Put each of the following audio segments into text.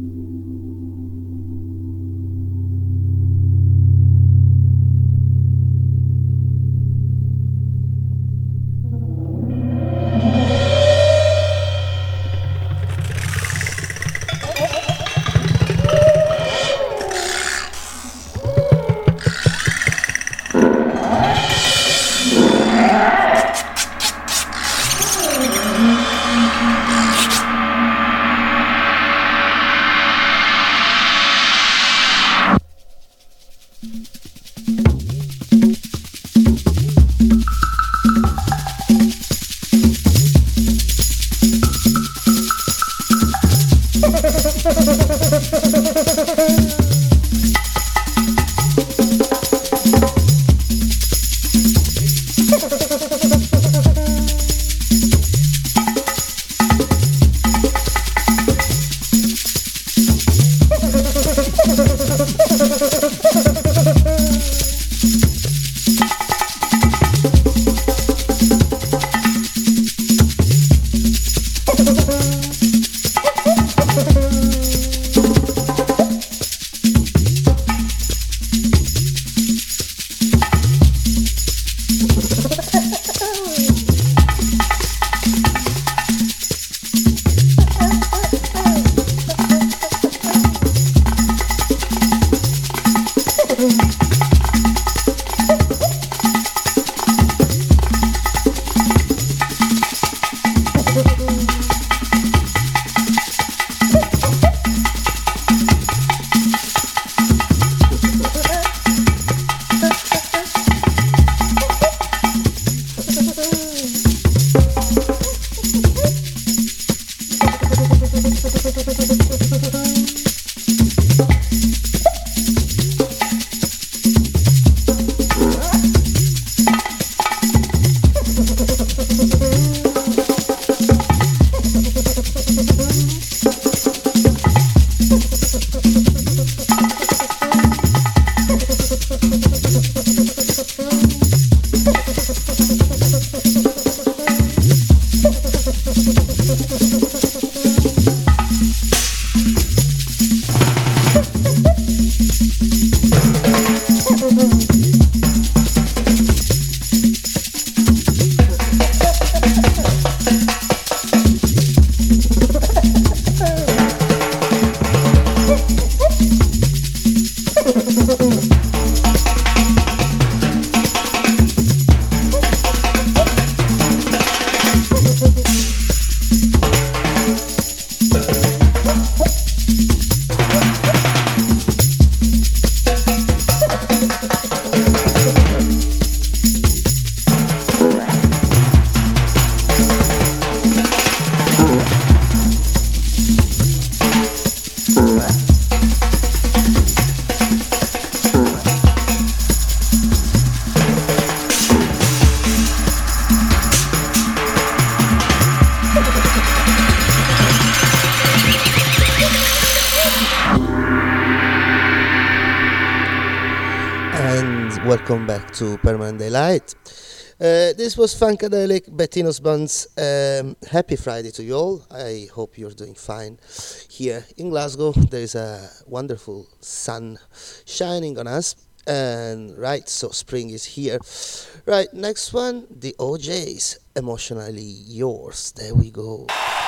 Welcome back to Permanent Daylight. This was Funkadelic, Bettino's Buns. Happy Friday to you all. I hope you're doing fine. Here in Glasgow, there is a wonderful sun shining on us. And right, so spring is here. Right, next one, the OJs, Emotionally Yours. There we go.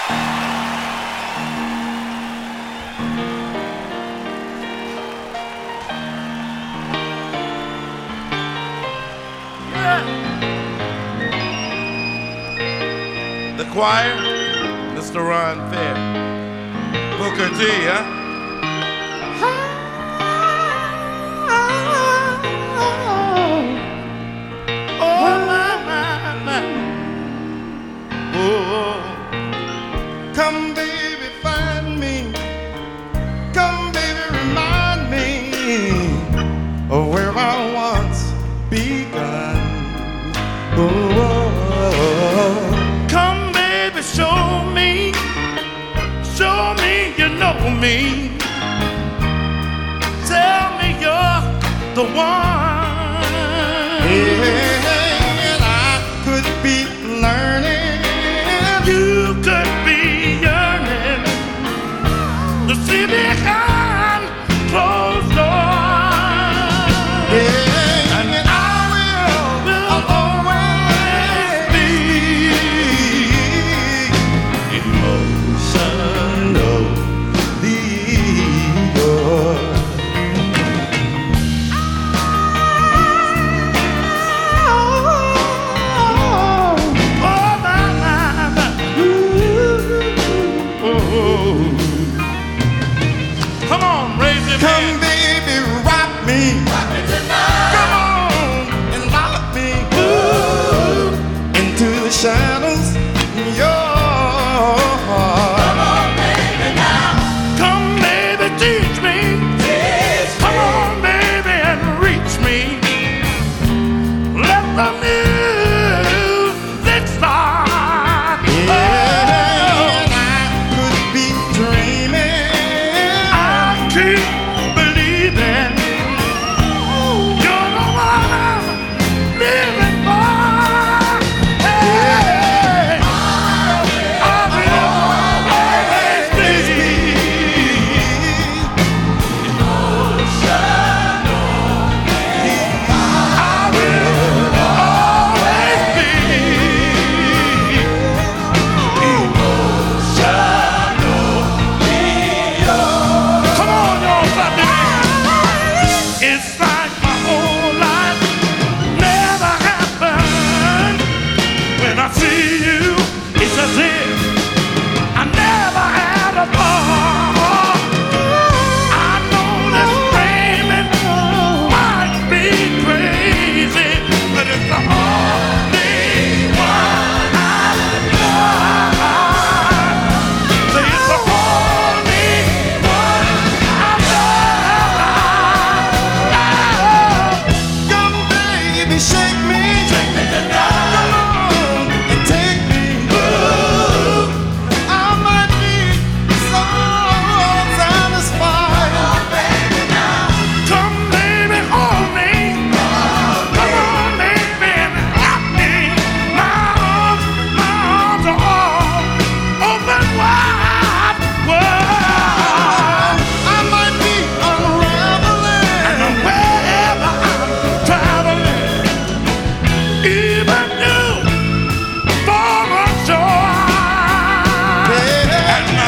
The choir, Mr. Ron Fair, Booker T, huh? Oh, my. Oh, come baby, find me. Come baby, remind me of where I once begun. Oh. You know me. Tell me you're the one. And I could be learning. You could be yearning to see behind closed doors. Yeah, and I will always be emotionally yours. Come on, raise your Come, hand. baby, rock me. Rock me tonight. Come on and lock me into the shadows. Your Come on, baby, now. Come, baby, teach me. Come on, baby, and reach me. Let the music start. and I could be dreaming. I keep believing you're the one I'm living for. Hey, I will always be I will always be Come on, y'all, clap your hands. It's like my whole life never happened. When I see you, it's as if I never had a thought. I know this dreaming might be crazy, but it's the only one I love. Say it's the only one I love. Come, baby, shake me. Come on and take me. I might be so satisfied. Come, baby, hold me. Come on, baby, and rock me. My arms are all open wide. Whoa. I might be unraveling. And wherever I'm traveling, even you for a joy. Yeah. And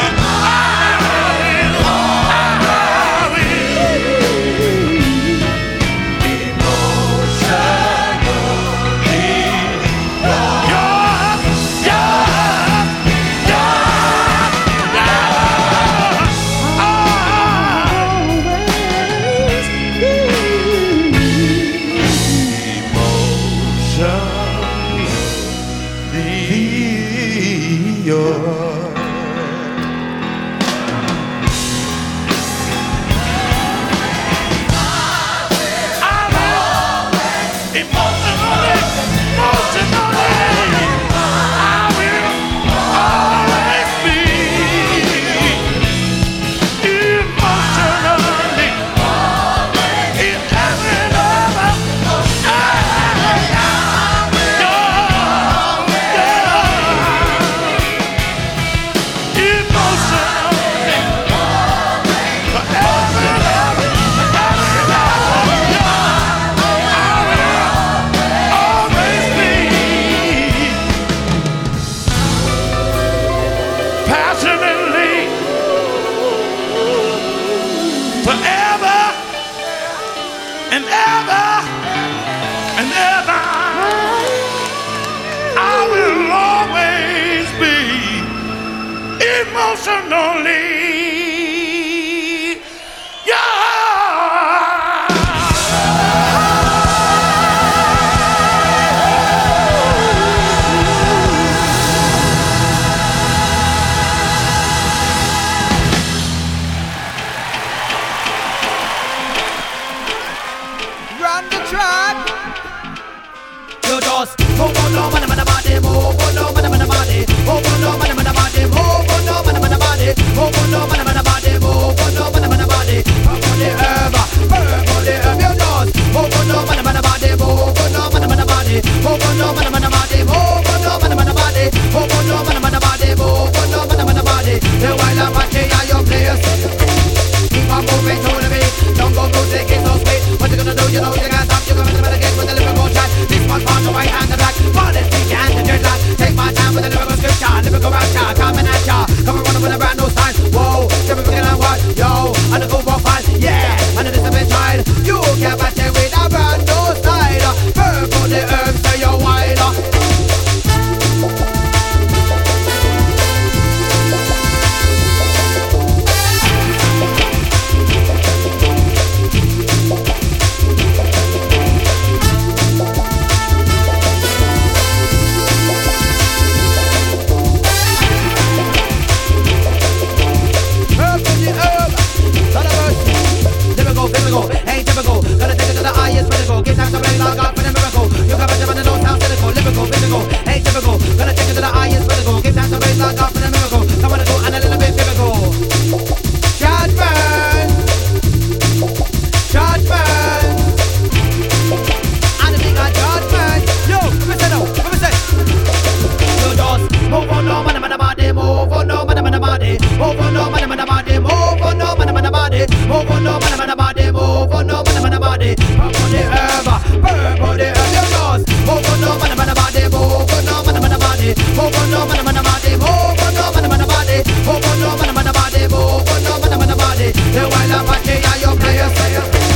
passionately, forever and ever and ever, I will always be emotionally Run the track. You just move on, no man, man, body, move on, no man, man, body, move on, no man, man, body, move on, no man, man, body, move on, no man, man, body, move on, no man, man, body, up on the herb, you just move on, no man, man, body, move on, no man, man, body, move on, no man, man, body, move on, no man, man, body, move on, no man, man, body, move on, no man, man, body. The wild Apache are your place. body, pop on the herb, burp on the herb, you just move on no man body, move on no man body, move on no man body, move on no man body, move on no man body, move on no man body. The wild Apache and your players say.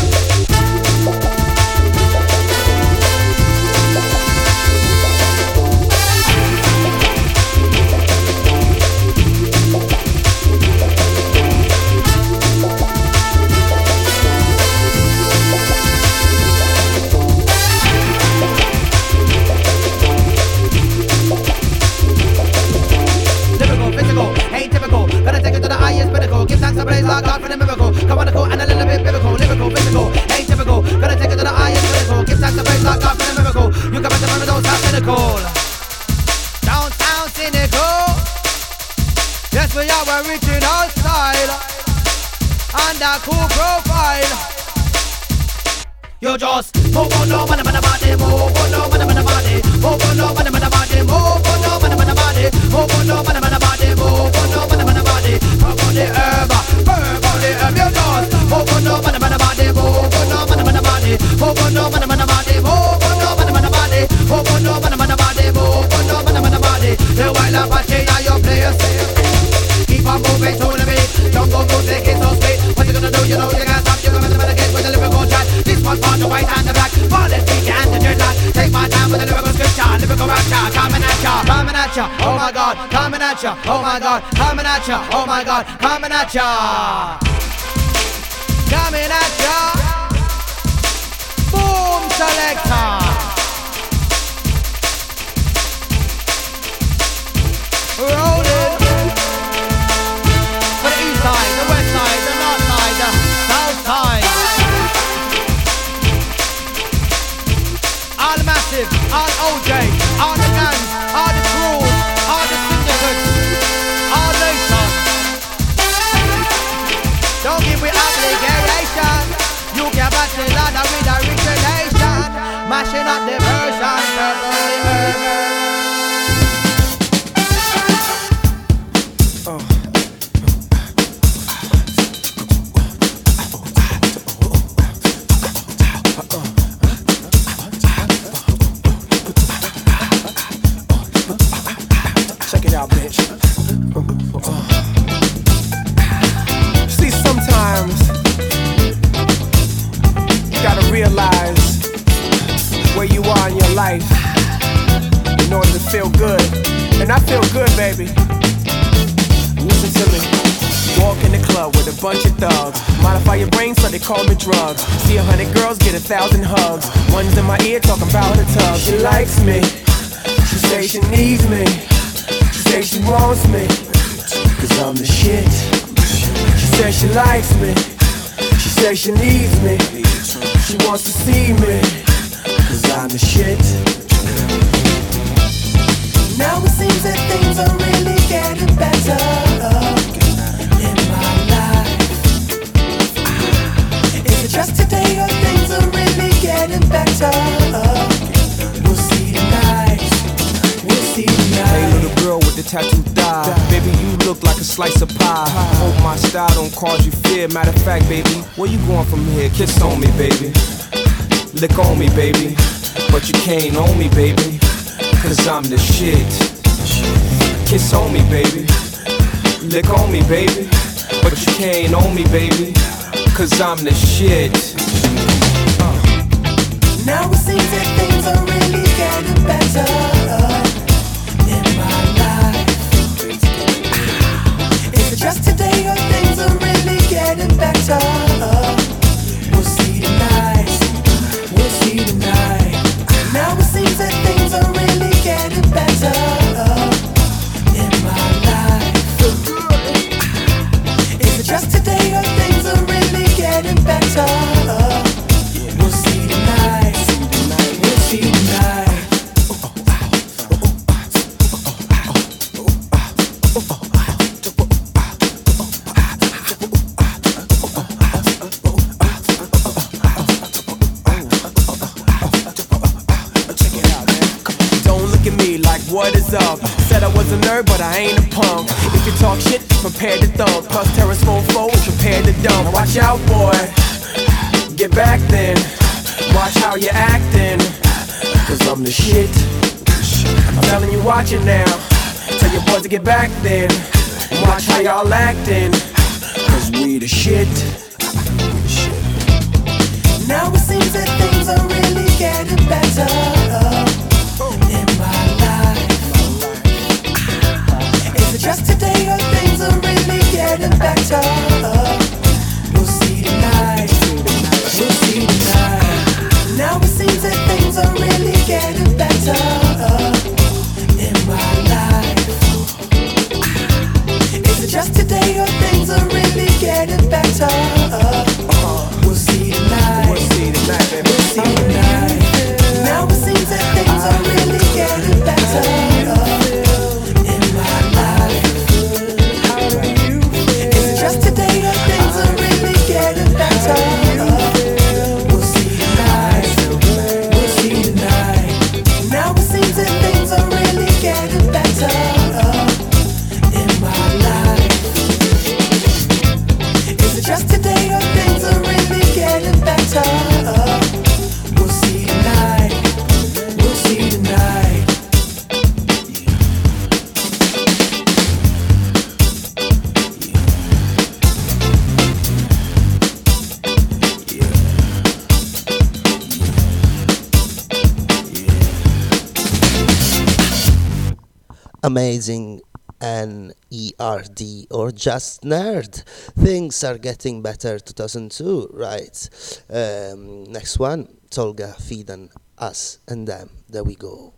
Like God for the miracle, come on, go and a little bit biblical, lyrical, physical, ain't typical. Gotta take it to the highest pinnacle. Give thanks to praise like God for the miracle. You can bet the money don't sound cynical. Don't sound cynical. Yes, we are original style and a cool profile. You just move on, no man, body, move on, no man, body, move on, no man, body, move on, no man, body, move on, no man, body, move on, no man, body, pop on the herb, burp on the herb, you just move on, no man, body, move on, no man, body, move on, no man, body, move on, no man, body, move on, no man, body, move on, no man, body. The wild Apache are your players. Keep on moving to the beat, don't go take it so sweet. What you gonna do? You know you can't stop. You gotta get with the lyrical chat. This one for the white and the black, for the speak and the dreadlock. Take my time with the lyrical scripture, lyrical rapture, coming at ya, coming at ya. Oh my God, coming at ya. Oh my God, coming at ya. Oh my God, coming at ya. Coming at ya. Boom selector. Rolling. For the east side, the west side, the north side, the south side. All the massive, all OJ, all the gangs, all the crews, all the syndicates, all nations. Don't give me obligation. You can batch the ladder with origination. Mashing up the version, purple the earth. See, sometimes you gotta realize where you are in your life in order to feel good. And I feel good, baby. Listen to me. Walk in the club with a bunch of thugs. Modify your brain so they call me drugs. See 100 girls get 1,000 hugs. One's in my ear talking about her tub. She likes me. She say she needs me. She say she wants me, cause I'm the shit. She says she likes me. She says she needs me. She wants to see me, cause I'm the shit. Now it seems that things are really getting better in my life. Is it just today or things are really getting better? We'll see tonight. Hey little girl with the tattooed thigh, baby you look like a slice of pie. Hope my style don't cause you fear. Matter of fact, baby, where you going from here? Kiss on me, baby. Lick on me, baby. But you can't own me, baby, cause I'm the shit. Kiss on me, baby. Lick on me, baby. But you can't own me, baby, cause I'm the shit. Now it seems that things are really getting better in my life. Is it just today or things are really getting better? We'll see tonight. We'll see tonight. Now it seems that things are really getting better in my life. Is it just today or things are really getting better? We'll see tonight. We'll see tonight. What is up? Said I was a nerd, but I ain't a punk. If you talk shit, prepare to thump. Plus Terrace 4-4, prepare to dump. Watch out, boy. Get back then. get back then and watch how y'all acting, cause we the shit. Now it seems that things are really getting better in my life. Is it just today or things are really getting better? We'll see tonight. We'll see tonight. Now it seems that things are really getting better in my life. Is it just today or things are really getting better? We'll see tonight. We'll see tonight, baby. We'll see tonight. Now it seems that things are really getting better in my life. Is it just today or things are really getting better? We'll see tonight. We'll see tonight. Now it seems that things are really getting better in my life. Is it just today or things are really getting better? We'll see tonight. We'll see tonight. Amazing NERD or just nerd. Things are getting better 2002, right? Next one, Tolga Fidan, Us and Them. There we go.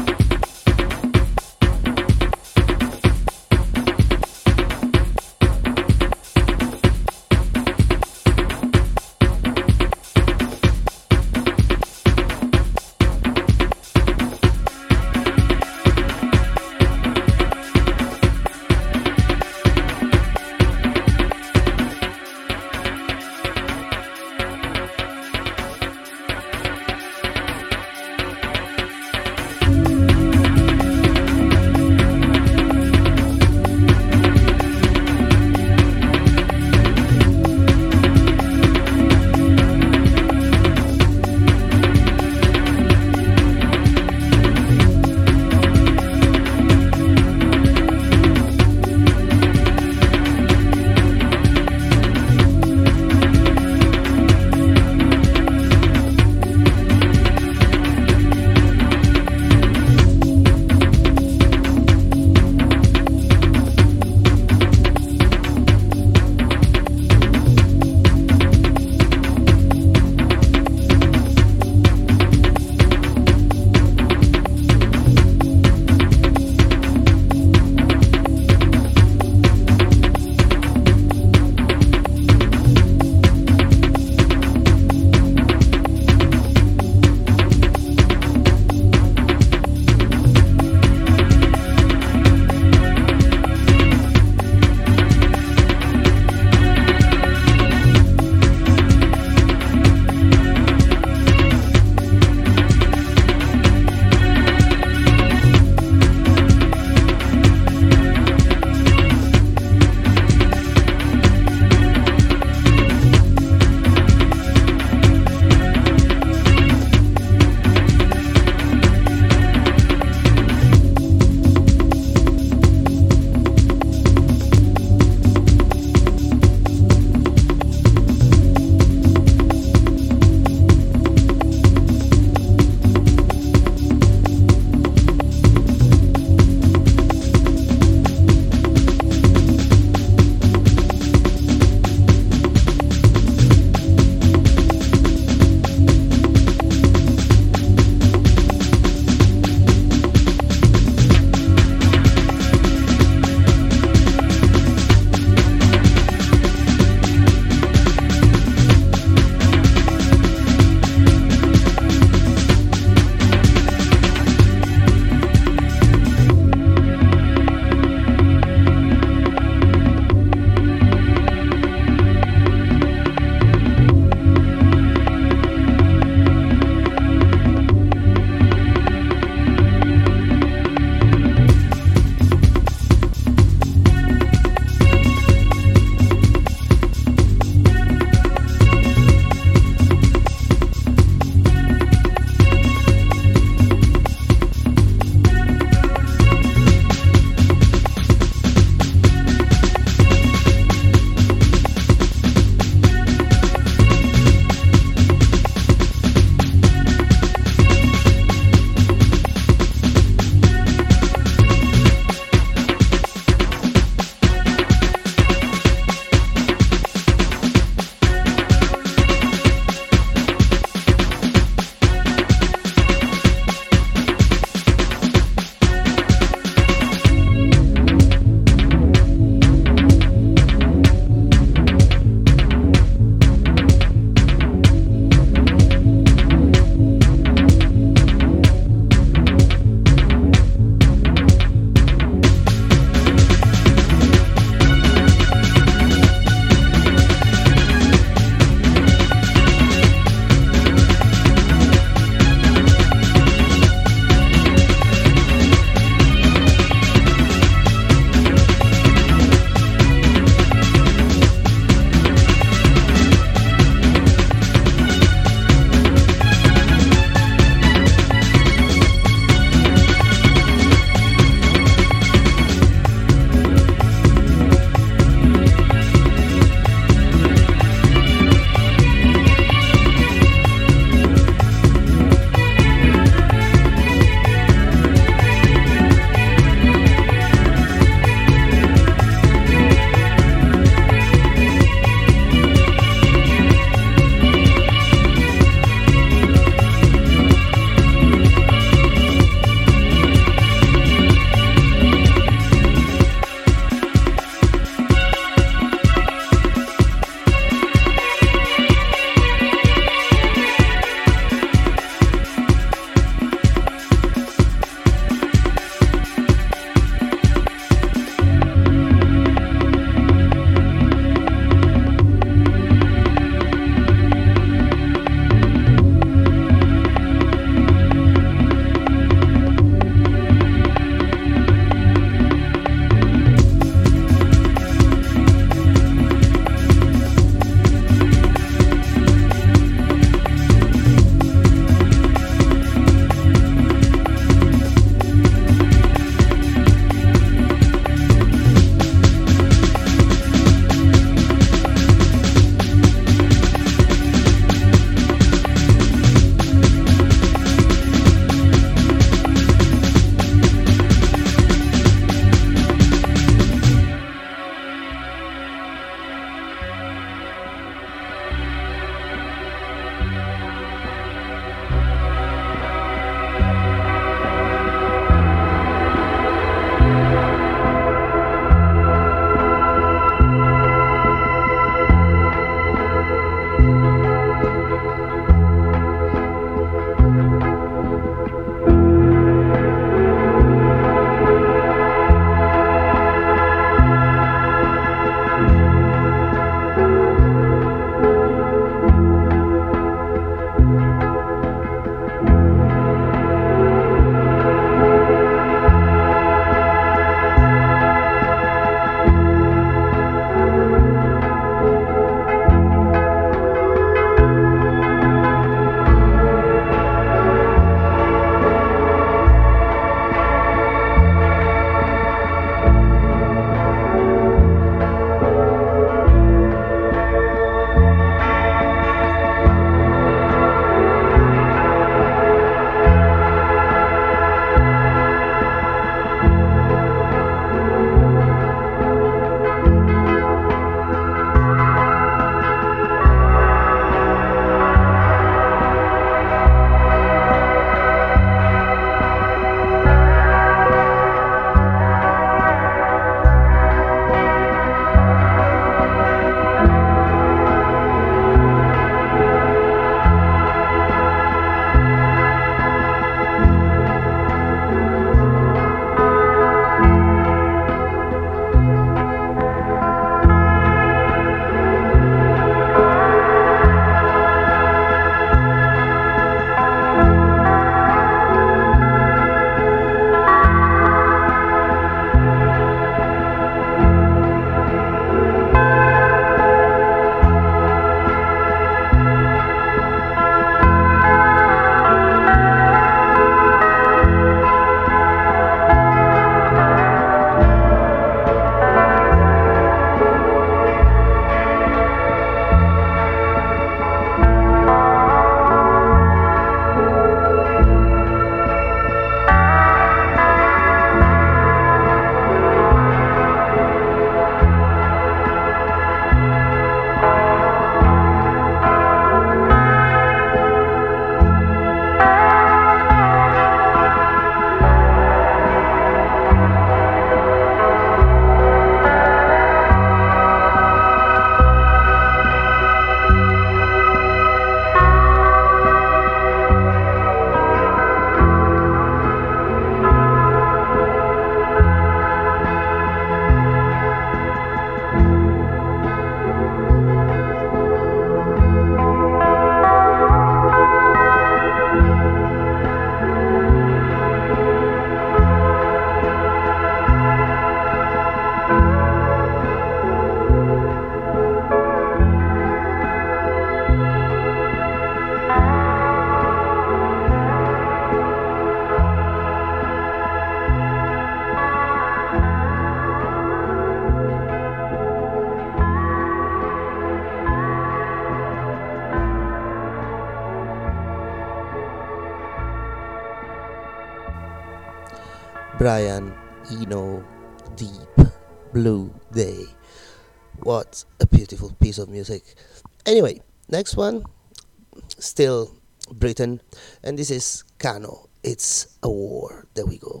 Brian Eno, Deep Blue Day. What a beautiful piece of music. Anyway, next one, still Britain, and this is Kano. It's a war. There we go.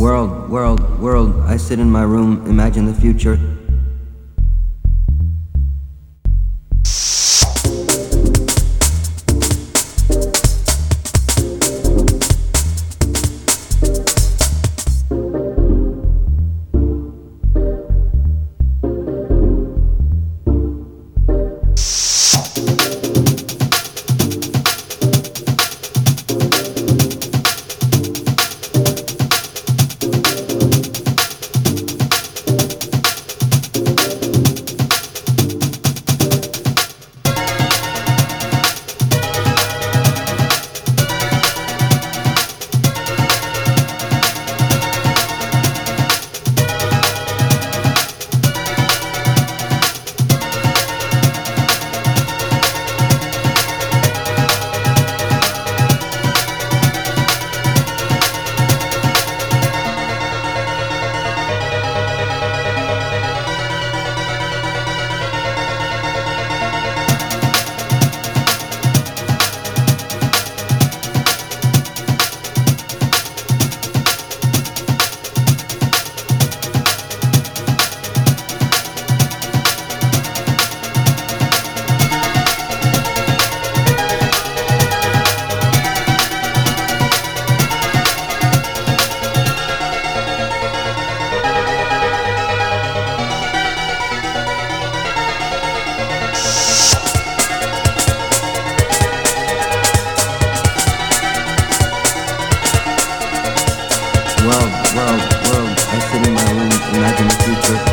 World, I sit in my room, imagine the future. World, I sit in my room, imagine the future.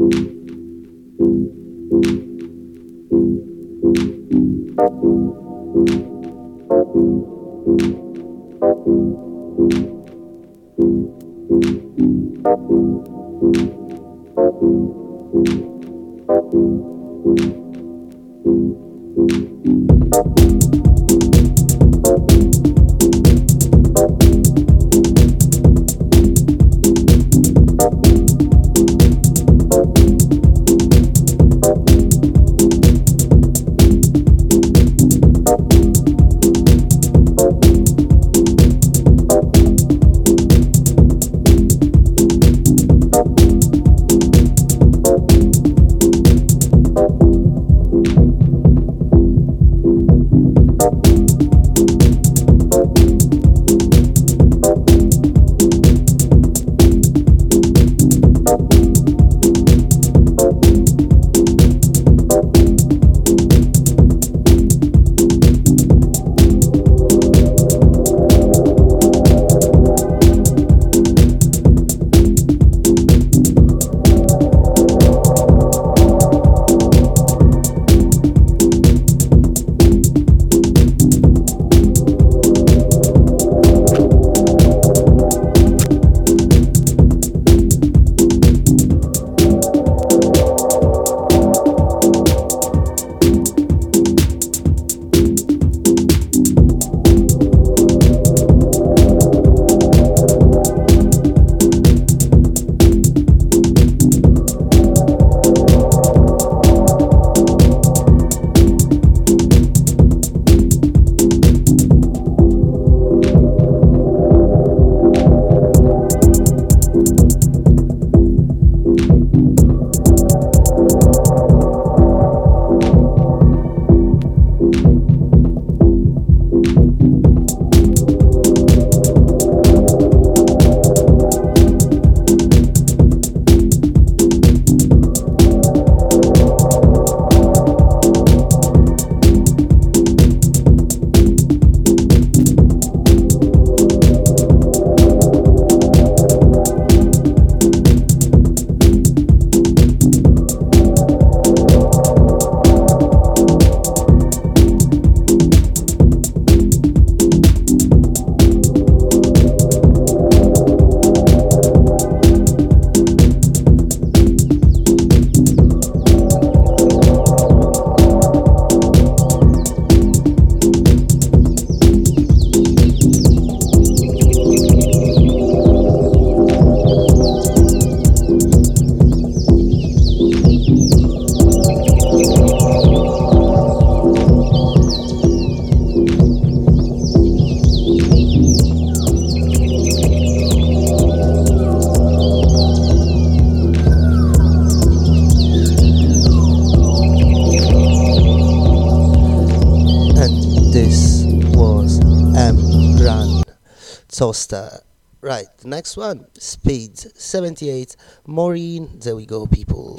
Toaster. Right, the next one, Speed 78, Maureen. There we go, people.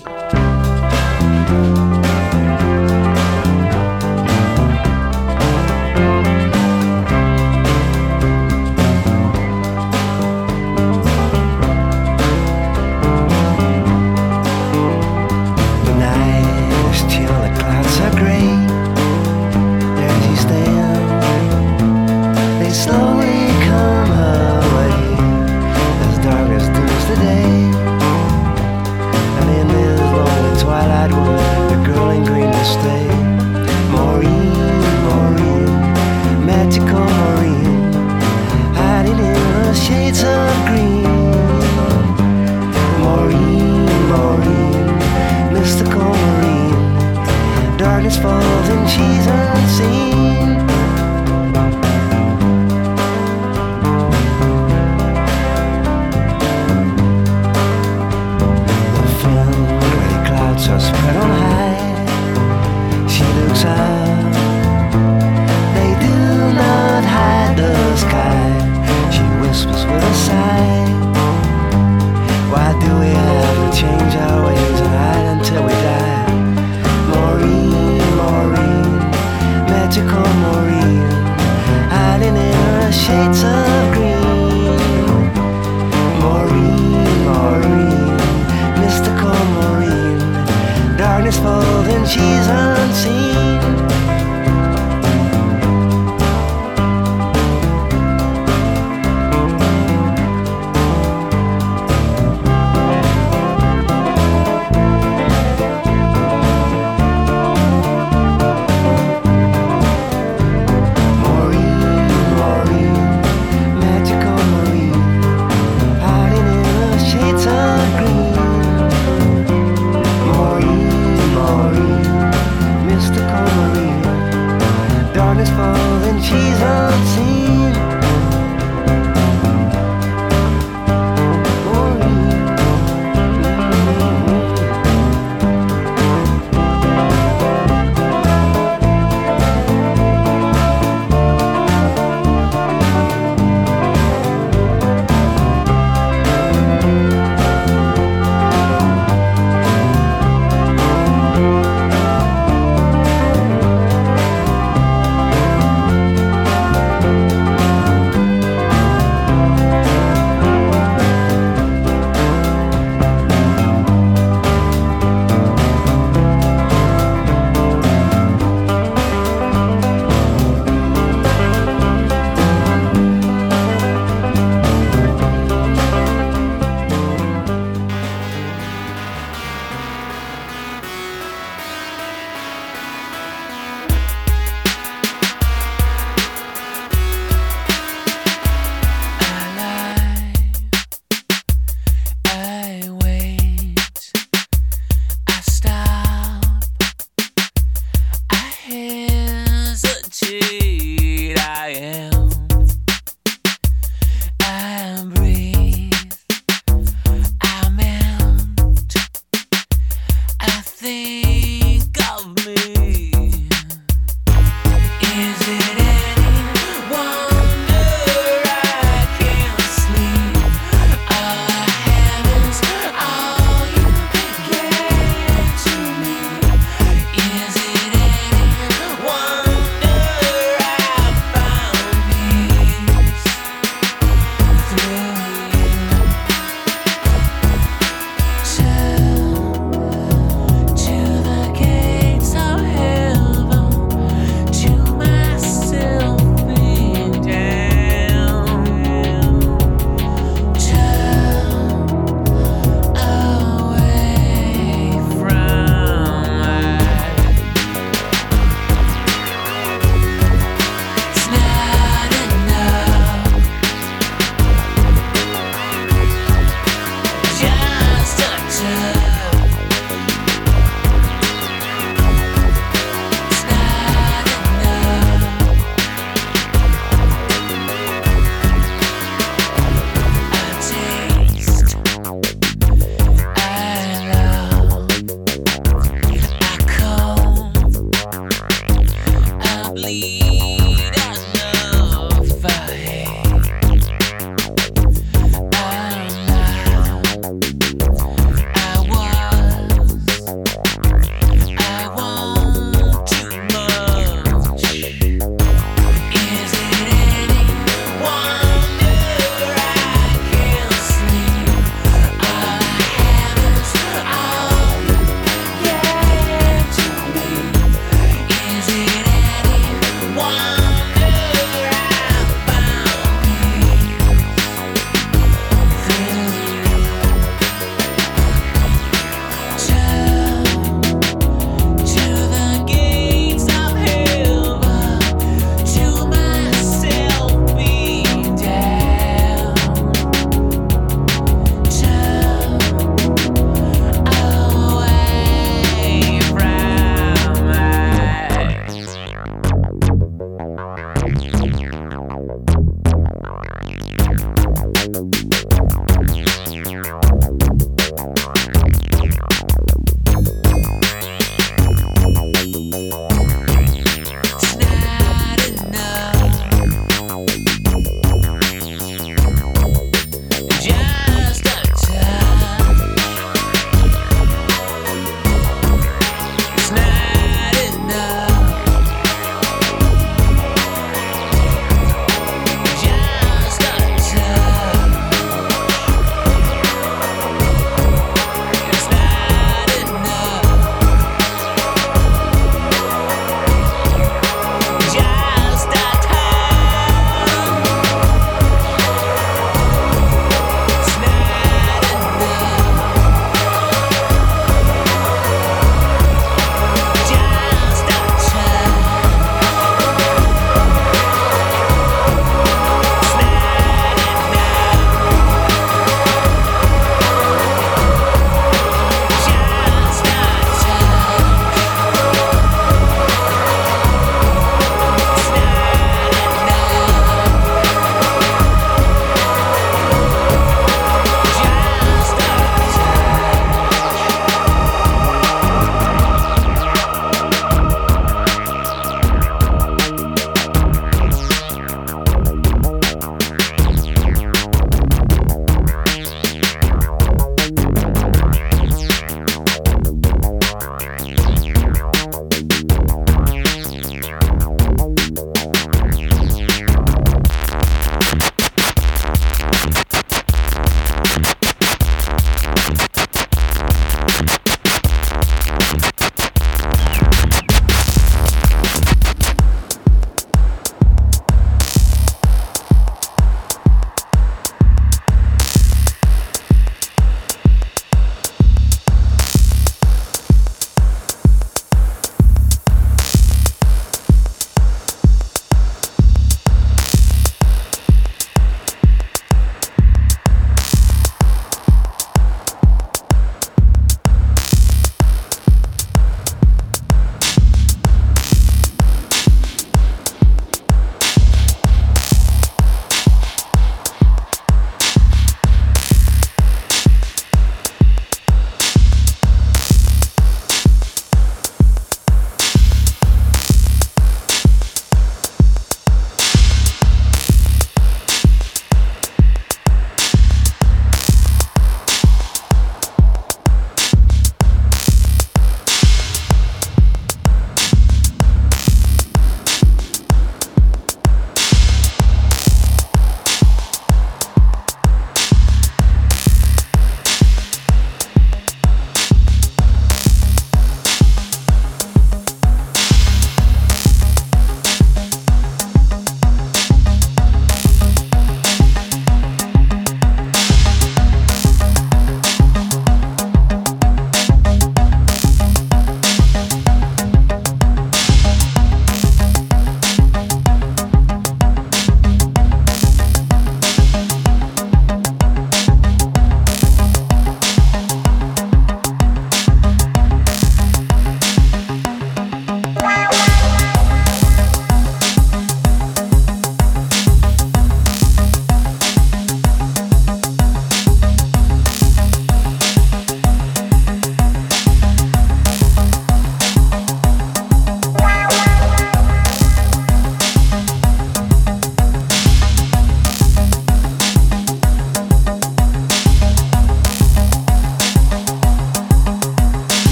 Slowly come her way, as dark as doomsday, and in this lonely twilight wood, the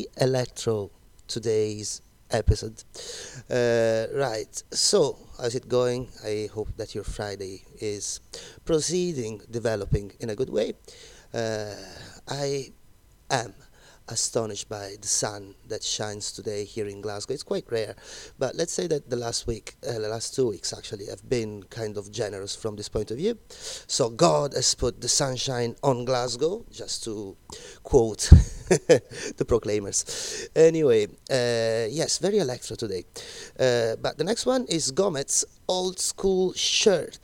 very electro today's episode. Right, so how's it going? I hope that your Friday is proceeding, developing in a good way. I am astonished by the sun that shines today here in Glasgow. It's quite rare, but let's say that the last 2 weeks actually, have been kind of generous from this point of view. So God has put the sunshine on Glasgow, just to quote the Proclaimers. Anyway, yes, very electro today. But the next one is Gomet's Old School Shirt.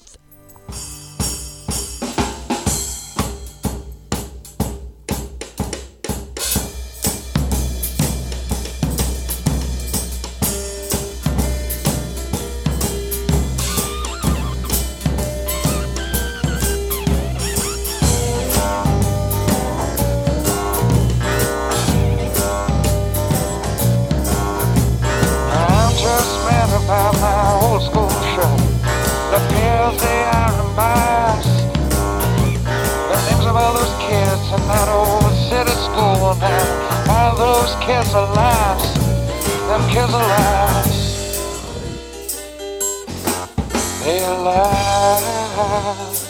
Kids are last, them kids are last, they are last.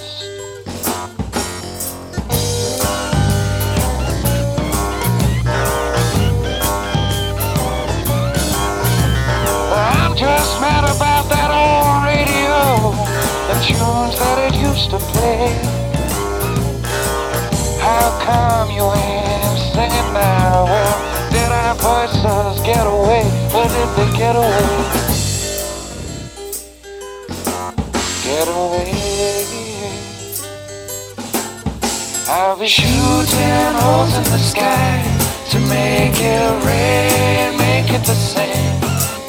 I'm just mad about that old radio, the tunes that it used to play. How come you ain't singing now? Well, did our voices get away, or did they get away? Get away. I'll be shooting holes in the sky to make it rain, make it the same.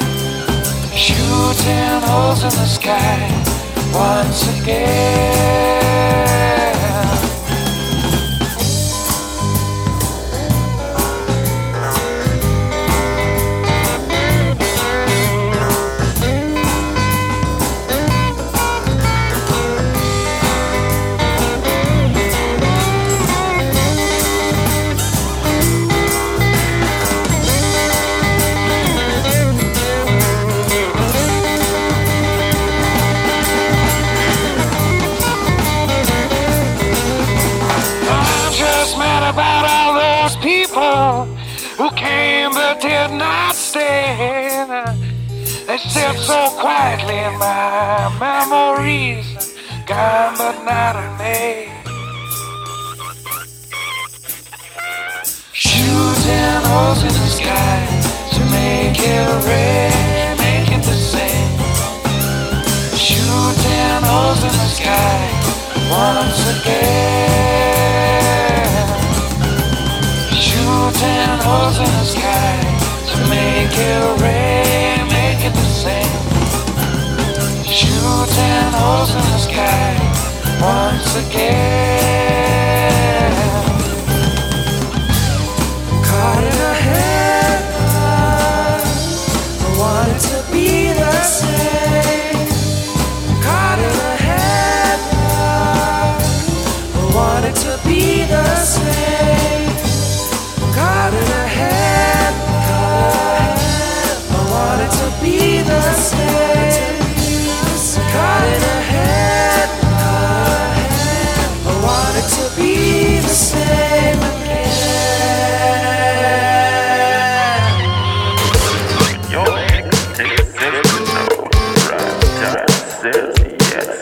Shooting holes in the sky once again. Who came but did not stay. They sit so quietly in my memories, gone but not erased. Shooting holes in the sky to make it rain, make it the same. Shooting holes in the sky once again. Shooting holes in the sky to make it rain, make it the same. Shooting holes in the sky once again. Caught in a headline, I wanted to be the same. Caught in a headline, I wanted to be the same. Caught in a head, I wanted to be the same. Caught in a head, I wanted to be the same again. Your take says yes.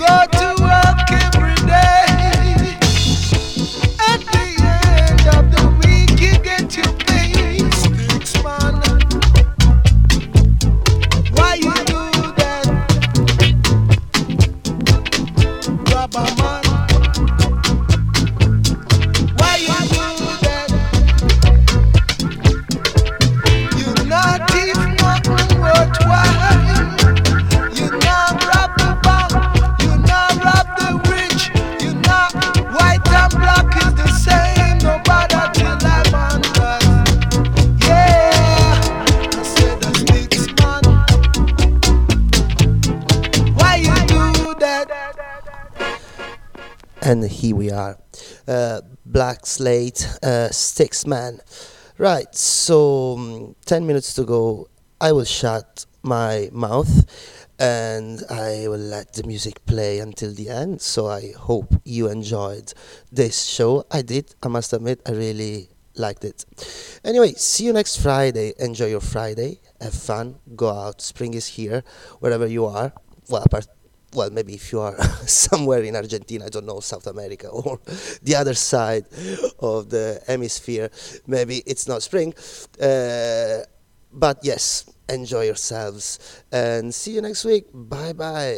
go to work every day. At the end of the week, you get your pay sticks, man. Why you do that, rubber man? Why you do that? You not even nothing worthwhile. You not rob the bank. You not rob the rich. You not white and black is the same. No bother till I'm on that. Yeah, I said the sticks man. Why you do that? And here we are, Black Slate, Sticks Man. Right, so 10 minutes to go. I will shut my mouth and I will let the music play until the end. So I hope you enjoyed this show. I did, I must admit, I really liked it. Anyway, see you next Friday. Enjoy your Friday, have fun, go out. Spring is here, wherever you are. Well, maybe if you are somewhere in Argentina, I don't know, South America or the other side of the hemisphere, maybe it's not spring. But yes, enjoy yourselves and see you next week. Bye bye.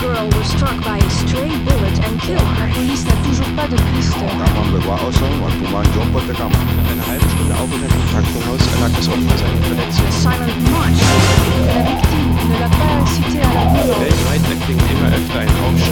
girl was struck by a stray bullet and killed. La police n'a toujours pas de piste. Eine halbe Stunde Aufenthalt im Krankenhaus erlag das Opfer seinen Verletzungen. Silent March. La victime ne l'a pas incité à la violence. Weltweit erklingen immer öfter ein Aufschrei